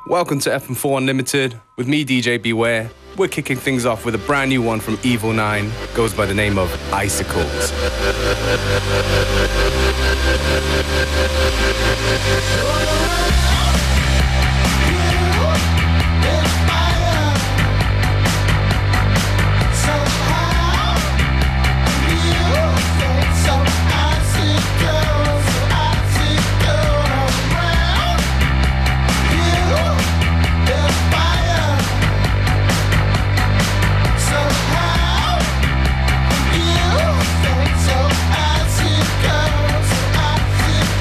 Welcome to FM4 Unlimited with me, DJ Beware. We're kicking things off with a brand new one from Evil 9. Goes by the name of Icicles. So I see girls, so I see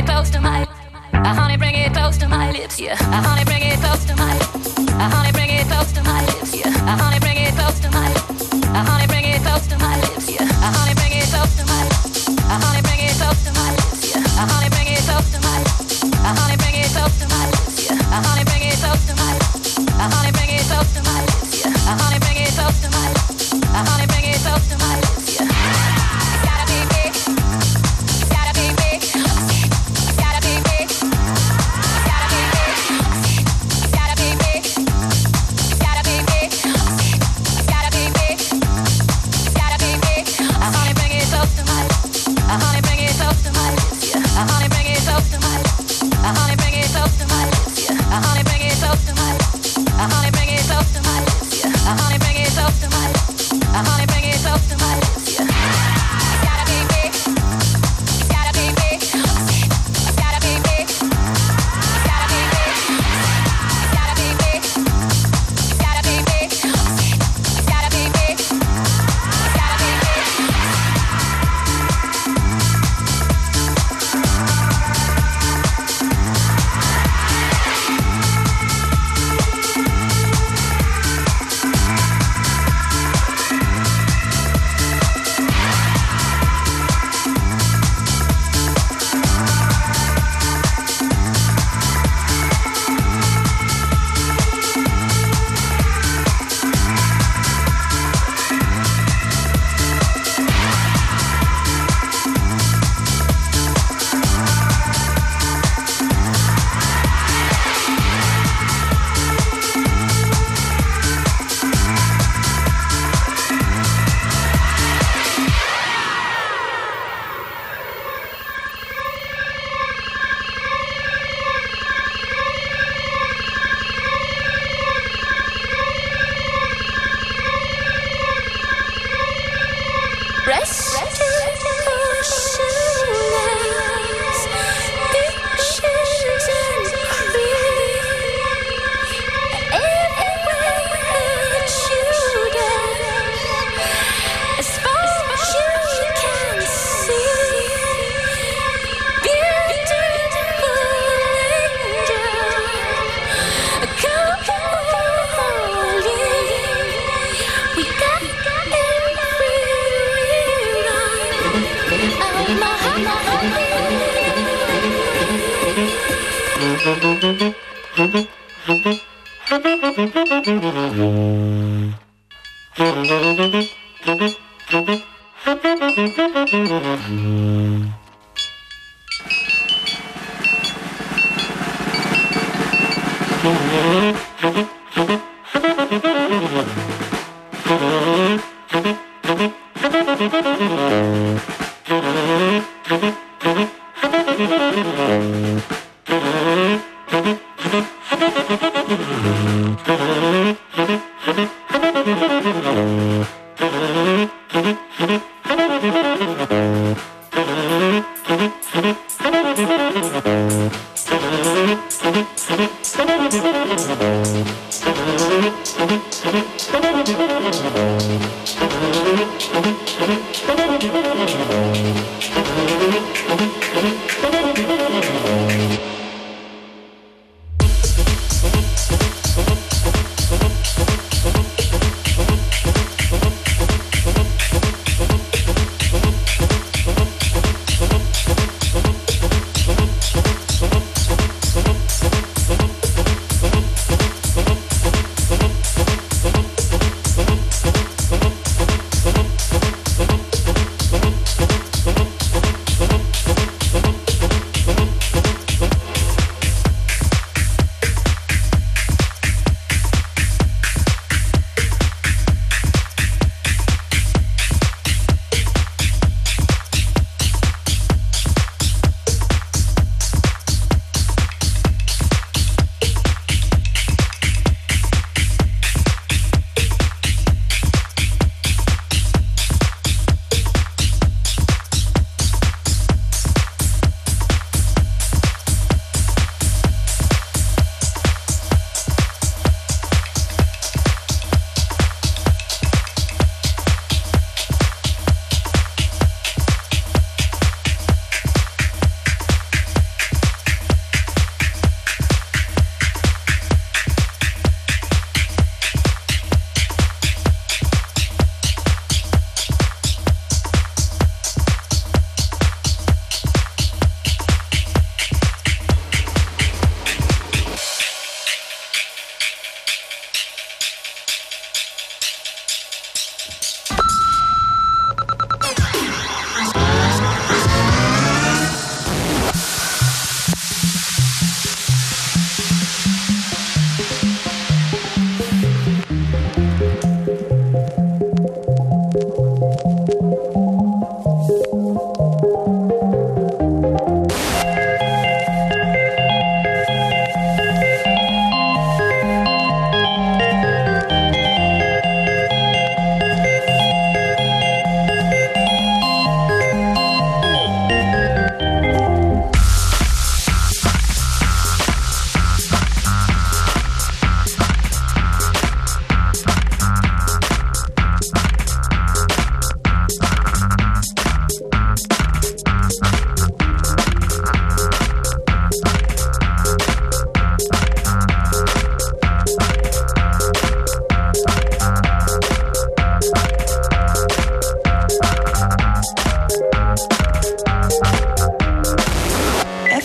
it close to my, honey, bring it close to my lips, yeah. Honey, bring it close to my, honey, bring it close to my lips, yeah. Honey, bring it close to my, honey, bring it close to my lips, yeah. Honey, bring it close to my, honey, bring it close to my lips, yeah. Honey, bring it close to my, honey, bring it close to my lips, yeah. Honey, bring it close to my, honey, bring it close to my lips, yeah. Honey, bring it close to my, honey, bring it close to my lips, yeah. It's gotta be big, it's gotta be big, it's gotta be big, it's gotta be big, it's gotta be big, it's gotta be big, it's gotta be big, it's gotta be big. Honey, bring it close to my, honey, bring it close to my lips, yeah. Honey, bring it close to my, honey, bring it close to my lips, yeah. Honey, bring it close to my, honey, bring it close to my lips, yeah. Honey, bring it close to my, honey, bring it close to my lips, yeah. It's gotta be big, it's gotta be big, it's gotta be big, it's gotta be big, it's gotta be big, it's gotta be big, it's gotta be big, it's gotta be big.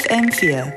FM4.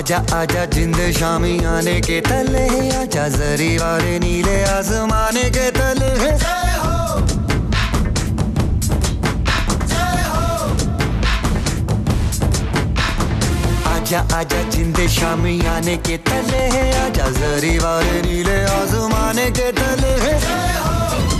आजा आजा जिंद शामी आने के तले आजा जरी वाले नीले आसमाने के तले जय हो जय हो आजा आजा जिंद शामी आने के तले आजा जरी वाले नीले आसमाने के तले जय हो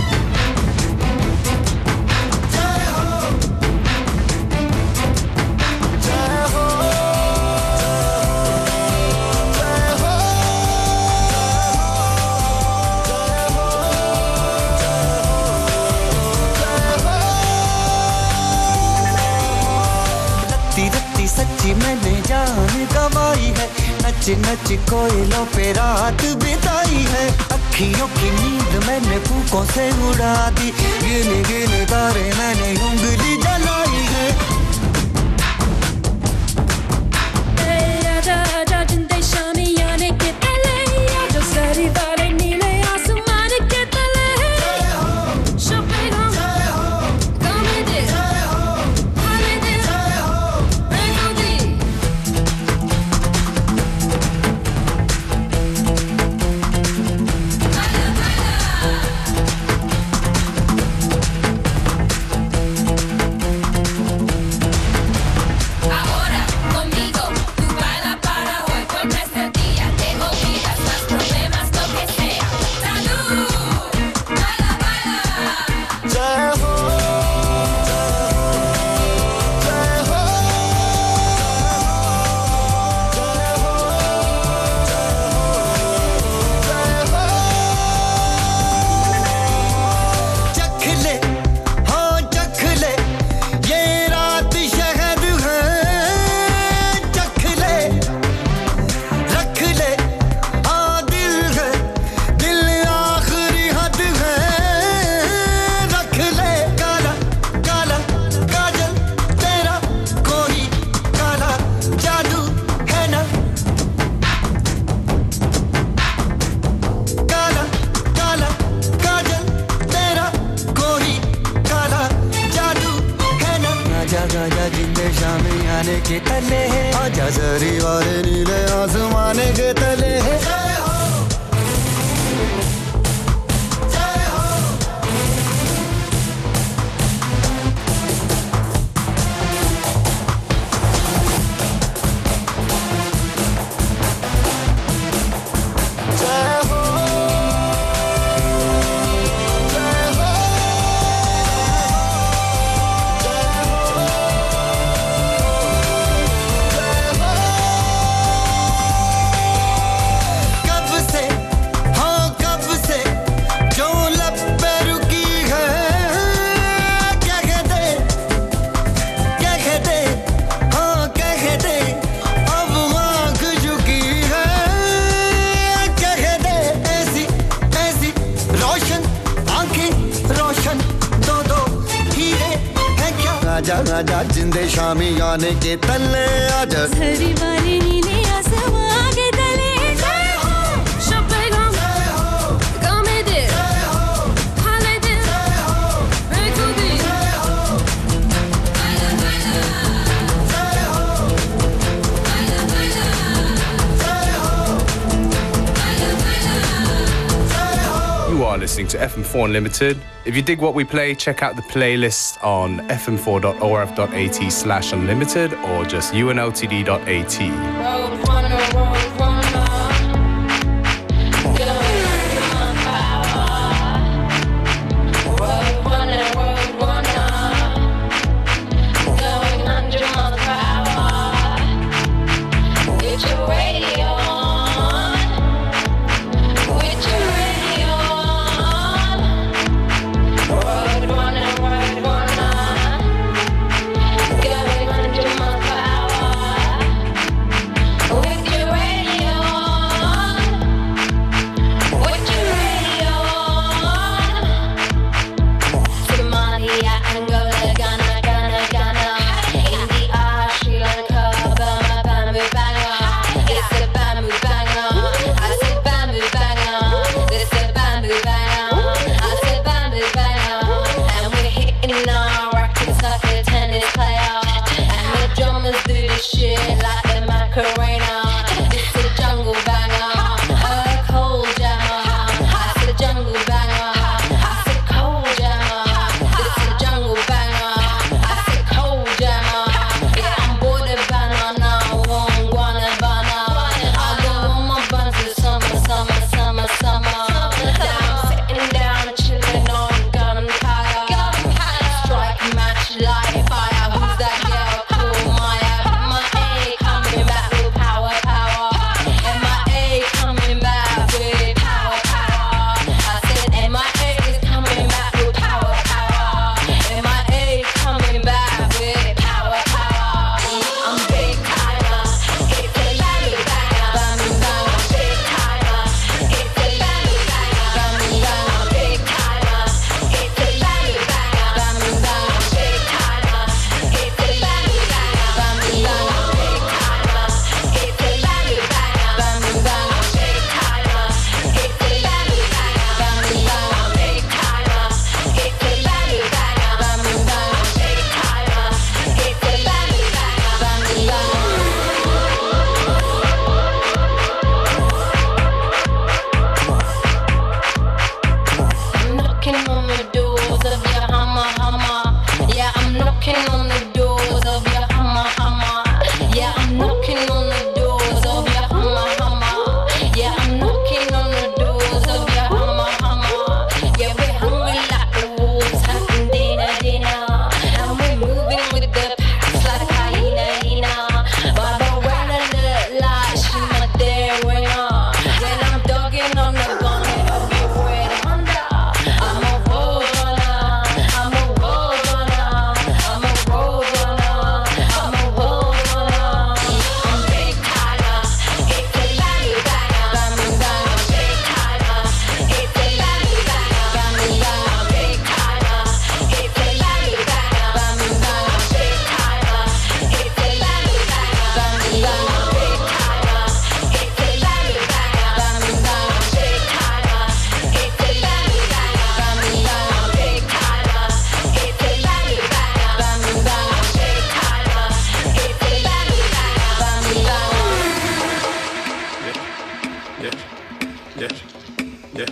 सच्ची मैंने जान गवाई है नच नच कोयलों पे रात बिताई है अखियों की नींद मैंने फूकों से उड़ा दी गिन गिन तारे मैंने उंगली जलाई है आजा आजा जिंदे शामी आने के तले आजा सारी वाले नीले आसमान के तले आजा जिंदे शामी आने के तले आजा हरी वाली नीले आसमां के तले जय हो शबगम जय हो कमेदे जय हो हालेदे जय हो बेकुदी जय हो बाला बाला जय हो बाला बाला जय हो बाला बाला जय हो You are listening to FM4 Unlimited. If you dig what we play, check out the playlist on fm4.orf.at/unlimited or just unltd.at. Oh,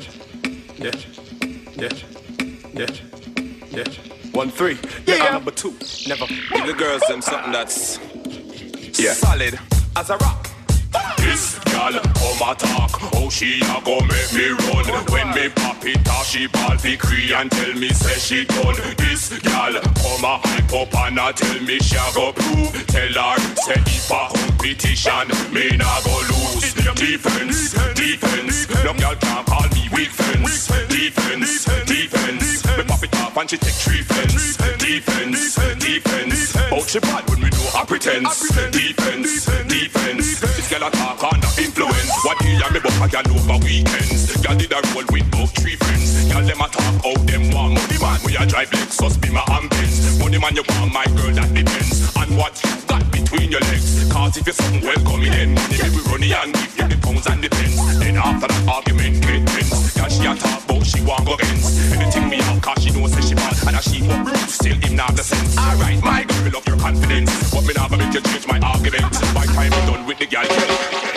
1-3. Yeah. Number 2. Never give the girls them something that's solid as a rock. This gal come a talk, oh she a go make me run. When me pop it off, she ball fi cree and tell me say she done. This gal come a hype up and a tell me she a go prove. Tell her say if a competition, me nah go lose. Defense, no gal can call me weak fence. Defense, me pop it off and she take 3 fence. Defense, oh she bad when we do a pretense. Defense, this gal a talk under influence. What he and me buck a gal over weekends. Gal did a roll with both 3 friends. Gal them a talk out them want money man. We a drive Lexus, Beamer and Benz. Money man you want my girl that depends on what you got between your legs. Cause if you're something welcome in money we run it and give you the pounds and the pence. Then after that argument get tense. Gal she a talk about she want go against anything me out cause she knows say she bad. And as she walk rude still him not the sense. Alright my girl love your confidence. But me not gonna make you change my argument. By time I'm done with the gal kill.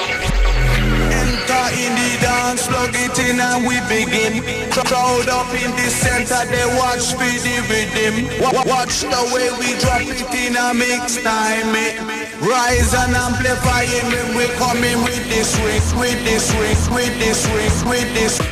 Enter in the dance, plug it in and we begin. Crowd up in the center, they watch for the rhythm. Watch the way we drop it in a mix time. Rise and amplify it when we coming with this swing, with this swing, with this swing, with this.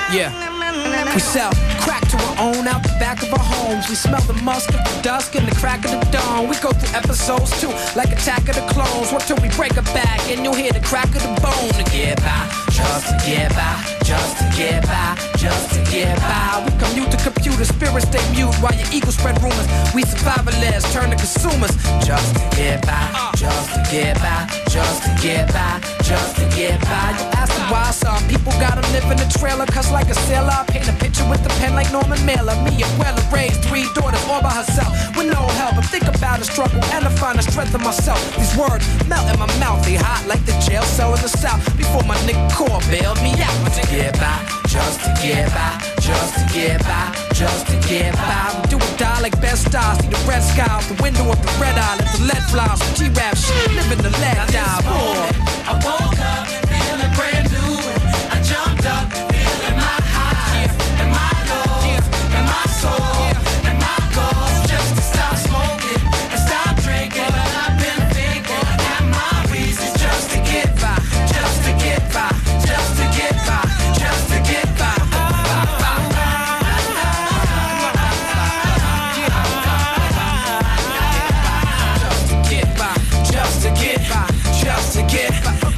Yeah. We sell crack to our own out the back of our homes. We smell the musk of the dusk and the crack of the dawn. We go through episodes too, like Attack of the Clones. What till we break a back and you'll hear the crack of the bone. To get by, just to get by, just to get by, just to get by. We commute to computers, spirits stay mute while your ego spread rumors. We survivalists turn to consumers. Just to get by, just to get by, just to get by, just to get by. You ask me why some people gotta live in a trailer, cause like a sailor I paint a picture with a pen like Norman Mailer. Me and Weller raised 3 daughters all by herself with no help. I think about the struggle and I find the strength in myself. These words melt in my mouth, they hot like the jail cell in the south. Before my nigga Core bailed me out. To get by, just to get by, just to get by, just to get by. We do or die like best stars. See the red sky out the window of the red eye. Let the lead fly. Some G-rap shit, living the lead die. I woke up feeling brand new. I jumped up feeling my highs and my lows and my soul and my goals. Just to stop smoking and stop drinking. But I've been thinking that my reasons just to get by, just to get by, just to get by, just to get by. Just to get by, just to get by, just to get by.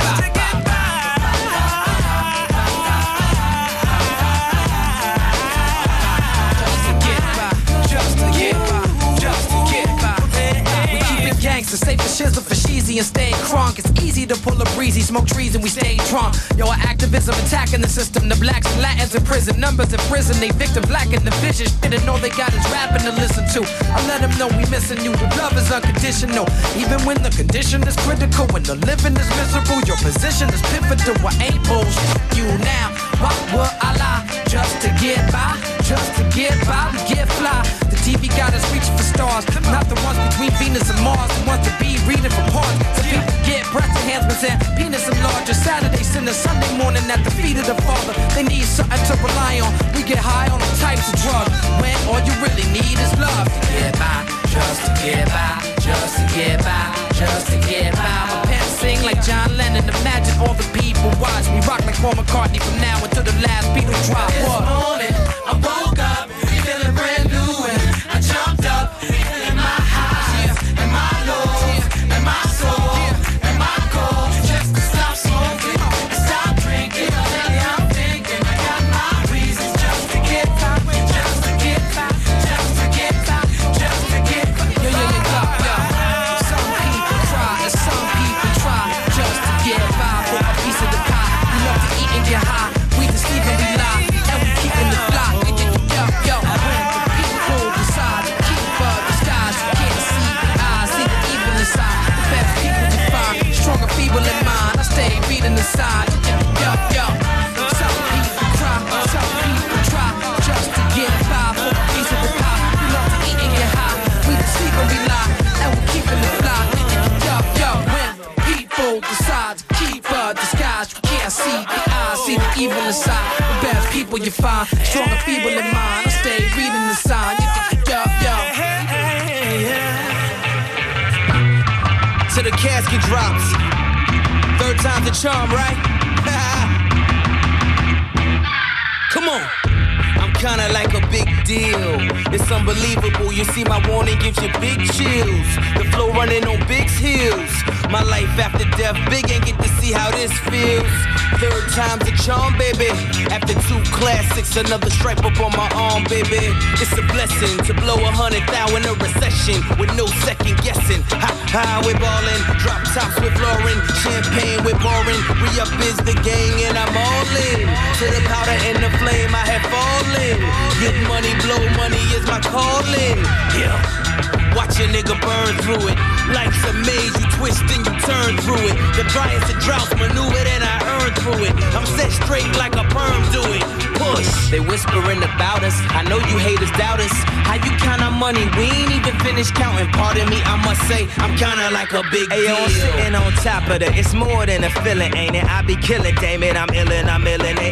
Gangsta, safe for shizzle for sheezy and stay crunk. It's easy to pull a breezy, smoke trees and we stay drunk. Yo, our activism attacking the system. The blacks and Latins in prison, numbers in prison. They victim black in the vision. Shit, and all they got is rapping to listen to. I let them know we missing you. The love is unconditional, even when the condition is critical. When the living is miserable, your position is pivotal. I ain't bullshit you now. Why would I lie? Just to get by, just to get by, we get fly. The TV got us reaching for stars, not the ones between Venus and Mars. The ones to be reading from parts. So people get breast enhancements and penis enlarger. Saturday, Sunday, Sunday morning at the feet of the Father. They need something to rely on. We get high on all types of drugs when all you really need is love. To get by, just to get by, just to get by, just to get by. My pants sing like John Lennon. Imagine all the people watch me rock like Paul McCartney from now until the last Beatle drop. This morning I woke up feeling brand new and I jumped up feeling my highs and my lows and my soul and my goals. Just to stop smoking and stop drinking. Lately I'm thinking I got my reasons just to get by, just to get by, just to get by, just to get by. Yo, yo, yo, yo, yo. Some people cry and some people try just to get by for a piece of the pie. We love to eat and get high. We just sleep and we lie and we keeping the fly. Yo, yo, when the people decide to keep the skies, you can't see the eyes, see the evil inside. The best people you find, strong and feeble in mind. I stay reading the sign. Yo, yo, some people cry, some people try just to get by for a piece of the pie. We love to eat and get high. We just sleep and we lie and we keeping the fly. Yo, yo, when people decide to keep the skies, you can't see the eyes, see the evil inside. The best people you find, strong and feeble in mind. I stay reading the sign. Yo, yo. Till the casket drops. 3rd time's the charm, right? Come on. I'm kinda like a big deal. It's unbelievable. You see my warning gives you big chills. The flow running on Big's heels. My life after death, Big ain't get to see how this feels. 3rd time's a charm, baby. After 2 classics, another stripe up on my arm, baby. It's a blessing to blow 100,000 in a recession with no second guessing. Ha, we're ballin'. Drop tops with Lauren, champagne with Warren. Re-up is the gang and I'm all in. To the powder and the flame, I have fallen. Get money, blow money is my calling. Yeah. Watch a nigga burn through it. Life's a maze, you twist and you turn through it. The driest of droughts maneuvered and I earned through it. I'm set straight like a perm do it. Push. They whispering about us. I know you haters doubt us. How you count our money? We ain't even finished counting. Pardon me, I must say, I'm kinda like a big deal. I'm sitting on top of it. It's more than a feeling, ain't it? I be killing, damn it, I'm illin', I'm illin'. Ay, ay, ay,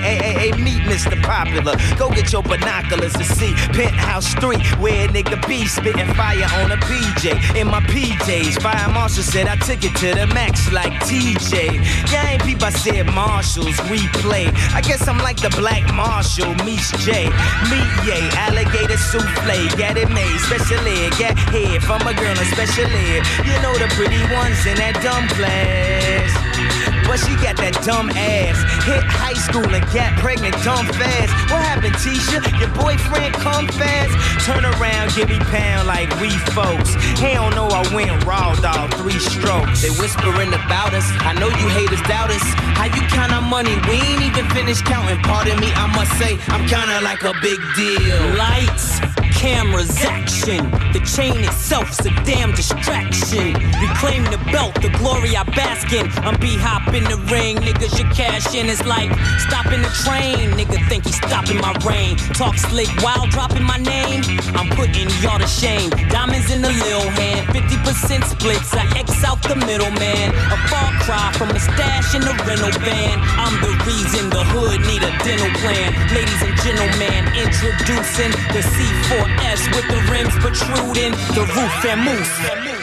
Hey, meet Mr. Popular. Go get your binoculars to see Penthouse Street, where a nigga be spitting fire on a PJ. In my PJs, Fire Marshal said I took it to the max like TJ. Yeah, ain't peep, I said Marshalls, we play. I guess I'm like the Black Marshal, meets J. Meet Ye, alligator souffle, get it made, special ed, get head from a girl in special ed. You know the pretty ones in that dumb class. But she got that dumb ass. Hit high school and got pregnant dumb fast. What happened, Tisha? Your boyfriend come fast? Turn around, give me pound like we folks. Hell no, I went raw dog, 3 strokes. They whispering about us. I know you haters doubt us. How you count our money? We ain't even finished counting. Pardon me, I must say, I'm kinda like a big deal. Lights, cameras, action. The chain itself's a damn distraction. Reclaim the belt, the glory I bask in. I'm B-hop in the ring, niggas should cash in. It's like stopping the train. Nigga think he's stopping my reign. Talk slick while dropping my name. I'm putting y'all to shame. Diamonds in the lil hand, 50% splits. I X out the middleman. A far cry from a stash in the rental van. I'm the reason the hood need a dental plan. Ladies and gentlemen, introducing the C4S with the rims protruding, the roof and mousse.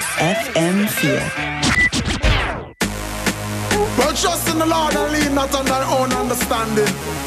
FM4. Well, trust in the Lord and lean not on their own understanding.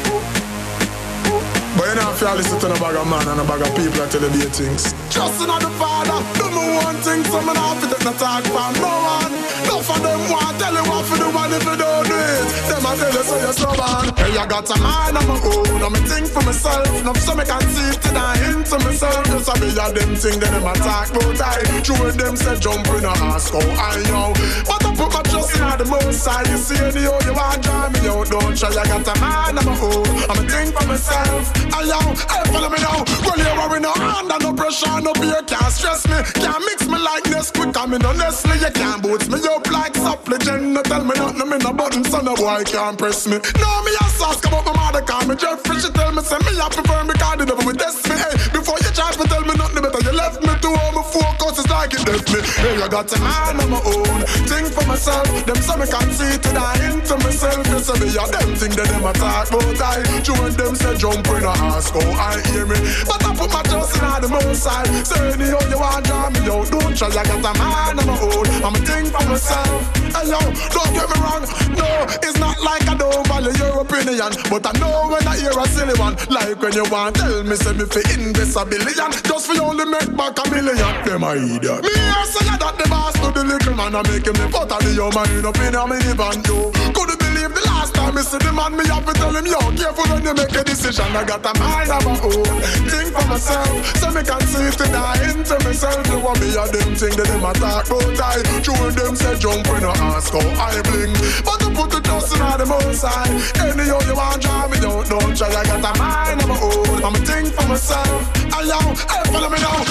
But you know if you listen to a bag of man and a bag of people that tell you the things. Trust in the Father, do me one thing, so me not fit no talk from no one. No for them want tell you what to do, and if you don't do it, them a tell you so you're stubborn. Hey, I got a mind of my own, and me think for myself. Now so me can see it and I into myself. Just a be a them thing, then them a talk about I. True them say jump in a ask how I know. But I put my trust in the most side. You see anyhow you want drive me out, don't try. I got a mind of my own, and me think for myself. Ayo, hey, follow me now. Well, you worry no under no pressure, no beer can't stress me. Can't mix me like this quick, I mean honestly. You can't boots me up like supplicant. No tell me nothing, me no button, so no boy can't press me. No, me a ask about my mother, call me Jeffrey. She tell me, say me I prefer me, cause the devil will test me. Hey, before you try to tell me nothing better, you left me to all my focus, it's like it left me. Hey, I got a man on my own, think for myself. Them say me can't see it and I into myself. You say me a them thing that them attack, but I join them say jump in a ask how I hear me. But I put my trust in the most side. Say anyhow you want draw me out, don't try. I got a man on my own, I'm a thing for myself. Hey yo, don't get me wrong, no, it's not like I don't value your opinion, but I know when I hear a silly one, like when you want tell me say me fi invest $1 billion, just for you only make back $1 million. Them a idiot. Me here say that the boss to the little man, I make him the butter the your mind up in a minivan. You couldn't believe the last time me see the man, me have to tell him yo, careful when you make a decision. I got a mind of my own, think for myself, so me can see it and I into myself. You want me a them thing that them attack, but I true them say jump when I ask how I bling. But to put the trust in the most side. Anyhow you want drive me out, don't try. I got a mind of my own, I'm a thing for myself. Ayo, hey, follow me now.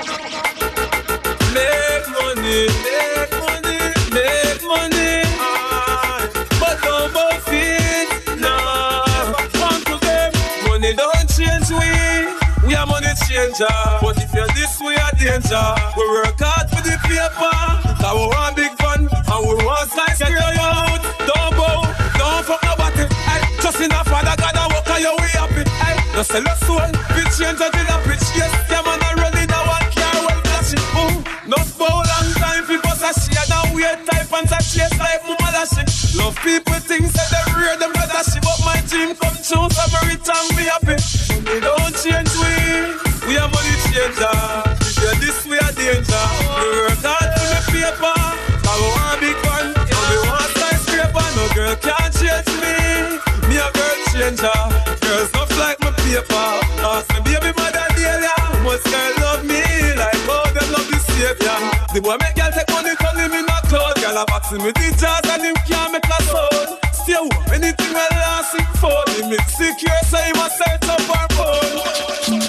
Make money, make money, make money. But don't both it, nah. Come to them, money don't change we are money changer. But if you're this, we are danger. We work hard for the paper, cause we want big fun, and we want slice get you out. Don't bow, don't fuck nobody. Just in a Father God, I walk on your way happy. No sell your soul, big change until the pitch. Yes, yeah man, I run it, I want care well flashing. No bow long time, people say shit, now weird type and say shit like mama lashing. Love people things that they rear them brother shit, but my dream come true, so every time be happy. Money don't change we are money changer. If you're this, we are danger. We work hard for the paper, cause we want big fun, and we want skyscraper. No girl can't change me a girl changer. Girls not like my paper. Ask me baby mother Delia, most girl love me like how them love the savior. The boy make girl take money, call him in a cloud. Girl a boxing with the jazz and him can't make a sound. Stay up, anything well last it for. Him it's secure, so he must search up our phone.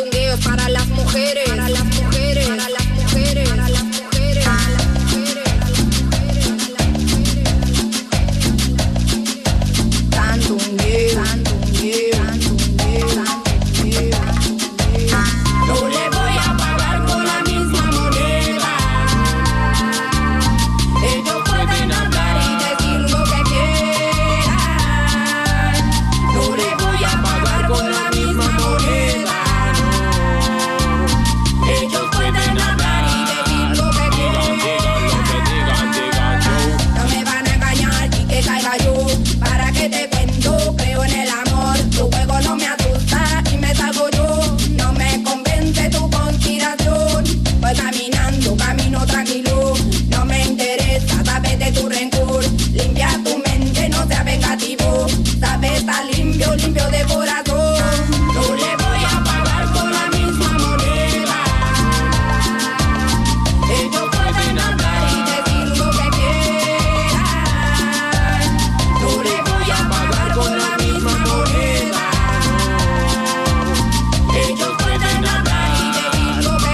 sandungueos para las mujeres, para las mujeres, para las mujeres, para las mujeres, para las mujeres, sandungueo, sandungueo, sandungueo, sandungueo. No le voy a pagar con la misma moneda. Ellos pueden hablar y decir lo que quieran. No le voy a pagar con la misma moneda. Ellos pueden hablar y decir lo que quieran. No me van a engañar y que caiga yo. ¿Para qué te cuento? Creo en el amor. Tu juego no me asusta y me salgo yo. No me convence tu conspiración. Voy caminando, camino tranquilo. No me interesa, sabes de tu rencor. Limpia tu mente, no seas vengativo. Sabes, está limpio, limpio de corazón. No le voy a pagar con la misma moneda. Ellos pueden hablar y decir lo que quieran. No le voy a pagar con la misma moneda. Ellos pueden hablar y decir lo que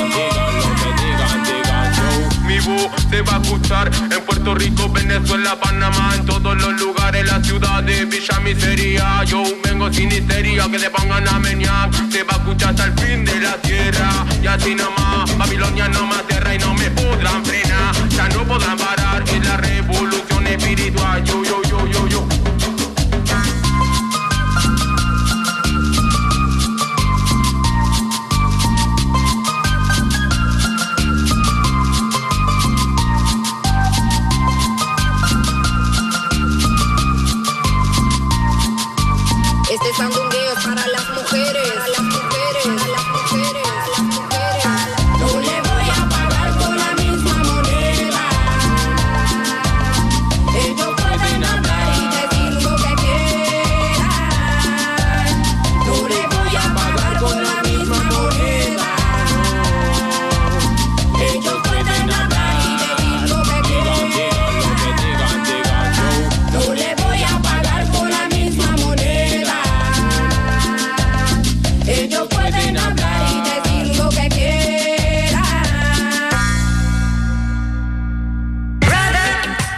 quieran. Mi voz se va a escuchar en Puerto Rico, Venezuela, Panamá, en todos los lugares, la ciudad de Villa Miseria. Yo vengo sin histeria, que le pongan a menear. Se va a escuchar hasta el fin de la tierra. Y así nomás, Babilonia no me aterra y no me podrán frenar. Ya no podrán parar, es la revolución espiritual. Yo, yo, yo, yo, yo. Este sandungueo es para las mujeres, para las mujeres, para las mujeres, para las mujeres. No le voy a pagar con la misma moneda. Ellos pueden hablar y decir lo que quieran. No le voy a pagar con la misma moneda. Ellos pueden hablar y decir lo que quieran. No le voy a pagar con la misma moneda. Ellos pueden hablar y decir lo que quieran. Brother,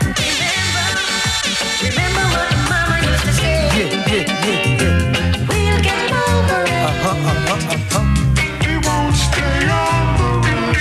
remember what mama used to say. We'll get over it. We won't stay on the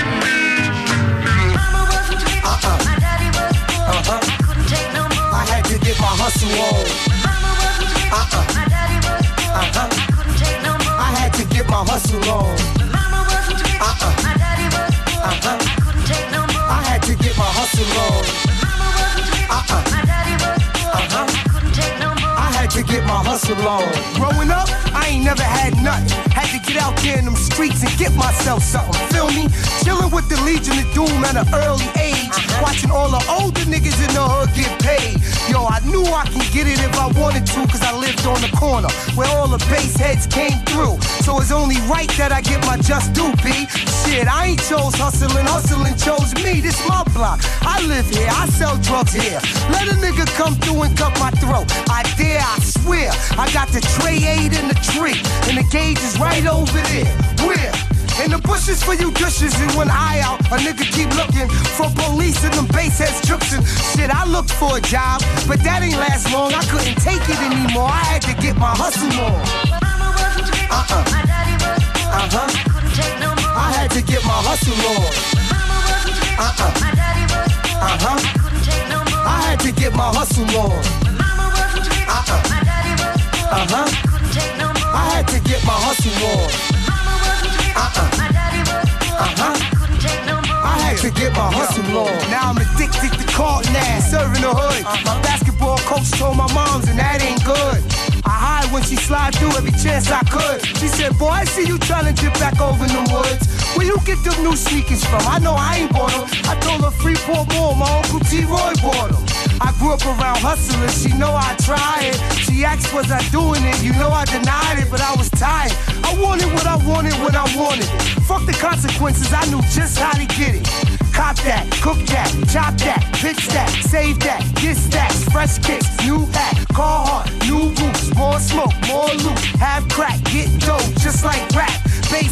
Mama wasn't rich, my daddy was poor. Couldn't take no more. I had to get my hustle on. Mama wasn't rich, my daddy was poor. Couldn't take no more. I had to get my hustle on. Mama wasn't rich, my daddy was poor. Couldn't take no more. I had to get my hustle on. Mama wasn't rich, my daddy was poor. Couldn't take no more. I had to get my hustle on. Growing up, I ain't never had nothing. Had to get out there in them streets and get myself something. Feel me? Chilling with the Legion of Doom at an early age. Watching all the older niggas in the hood get paid. Yo, I knew I could get it if I wanted to, cause I lived on the corner where all the bass heads came through. So it's only right that I get my just due, B. Shit, I ain't chose hustling, hustling chose me. This my block. I live here, I sell drugs here. Let a nigga come through and cut my throat. I dare, I swear. I got the tray 8 in the tree, and the gauge is right over there. Where? In the bushes for you dishes, and one eye out, a nigga keep looking for police and them bass heads tripping. Shit, I looked for a job, but that ain't last long. I couldn't take it anymore. I had to get my hustle on. Mama wasn't rich, my daddy was poor. Couldn't take no more. I had to get my hustle on. Mama wasn't rich, my daddy was poor. Couldn't take no more. I had to get my hustle on. Mama wasn't rich, my daddy was poor. Couldn't take no more. I had to get my hustle on. Mama wasn't rich, my daddy was poor. Couldn't take no more. I had to get my hustle on. Now I'm addicted to Carlton ass, serving the hood. My basketball coach told my moms, and that ain't good. I hide when she slide through every chance I could. She said, boy, I see you trying to dip back over in the woods. Where you get them new sneakers from? I know I ain't bought them. I told her Freeport Mall, my Uncle T-Roy bought them. I grew up around hustlers, she know I tried. She asked, was I doing it? You know I denied it, but I was tired. I wanted what I wanted when I wanted it. Fuck the consequences, I knew just how to get it. Cop that, cook that, chop that, pitch that, save that, get stacks, fresh kicks, new hat, car hard, new boots, more smoke, more loot, have crack, get dope, just like rap. Bay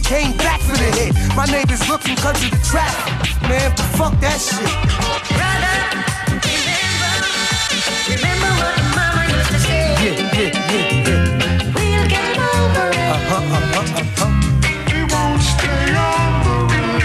came back for the hit. My neighbors looking cause of the traffic. Man, but fuck that shit. Brother, remember what mama used to say. Yeah. We'll get over it. We won't stay on the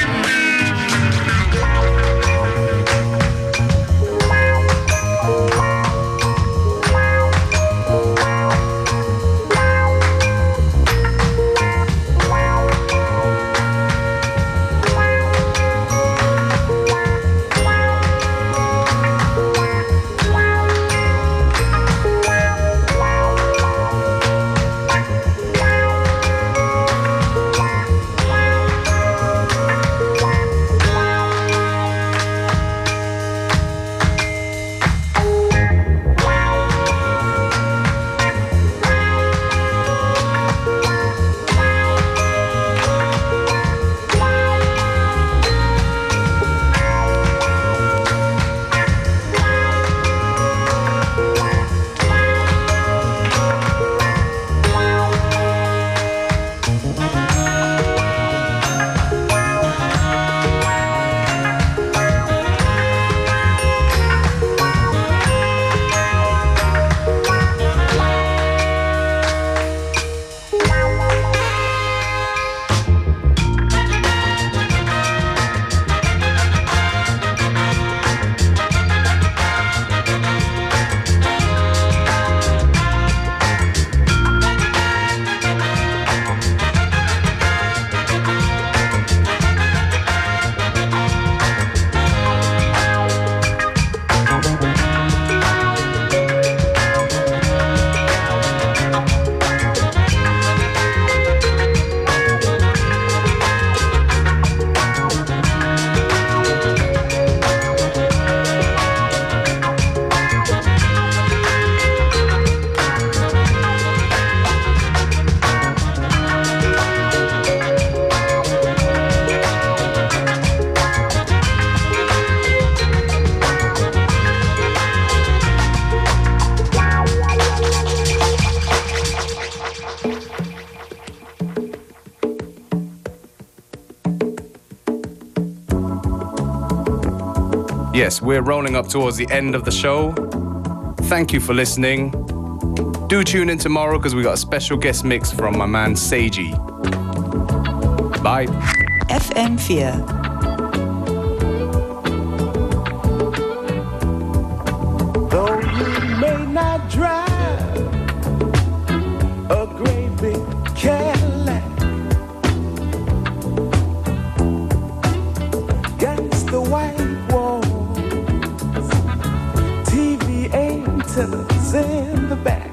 Yes, we're rolling up towards the end of the show. Thank you for listening. Do tune in tomorrow because we got a special guest mix from my man Seiji. Bye. FM4. Though you may not drive a great big Cadillac, against the white walls, TV antennas in the back.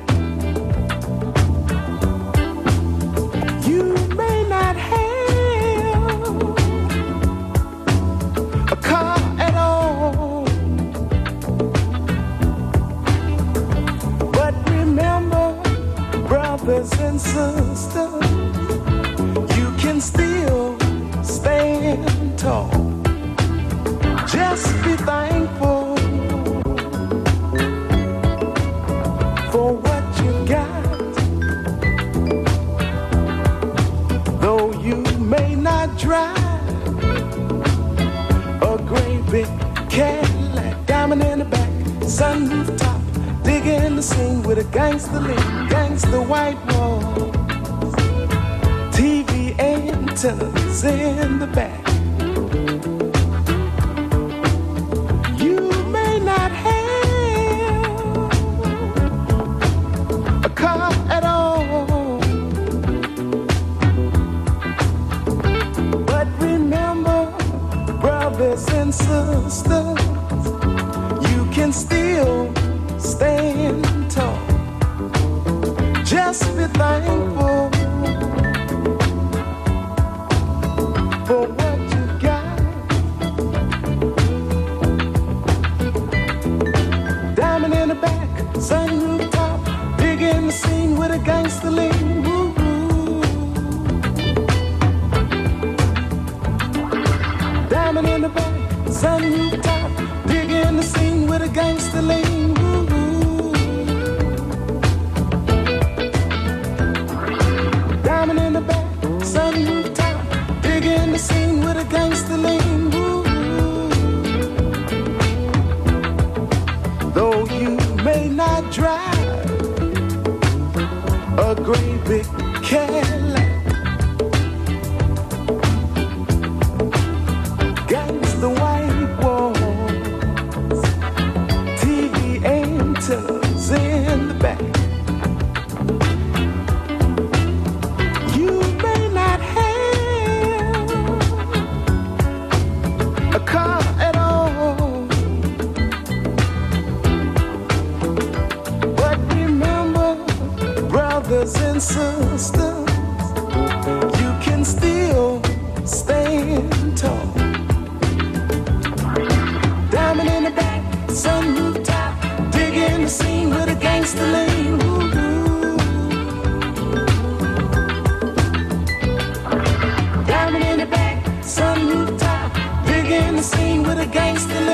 You may not have a car at all, but remember, brothers and sisters, you can still stand tall. Just be thankful for what you got. Though you may not drive a great big Cadillac, diamond in the back, sunroof top, digging the scene with a gangster lean, gangster white walls, TV antennas in the back. You may not have a car at all, but remember, brothers and sisters, you can still stand tall. Just be thankful for what you got. Diamond in the back, sunroof top, big in the scene with a gangster lean. Woo-hoo. Diamond in the back, sunroof top, big in the scene with a gangster lean. Woo-hoo. Diamond in the back, sunroof top, stand tall. Diamond in the back, sun rooftop, digging the scene with a gangster lean. Diamond in the back, sun rooftop, digging the scene with a gangster lean.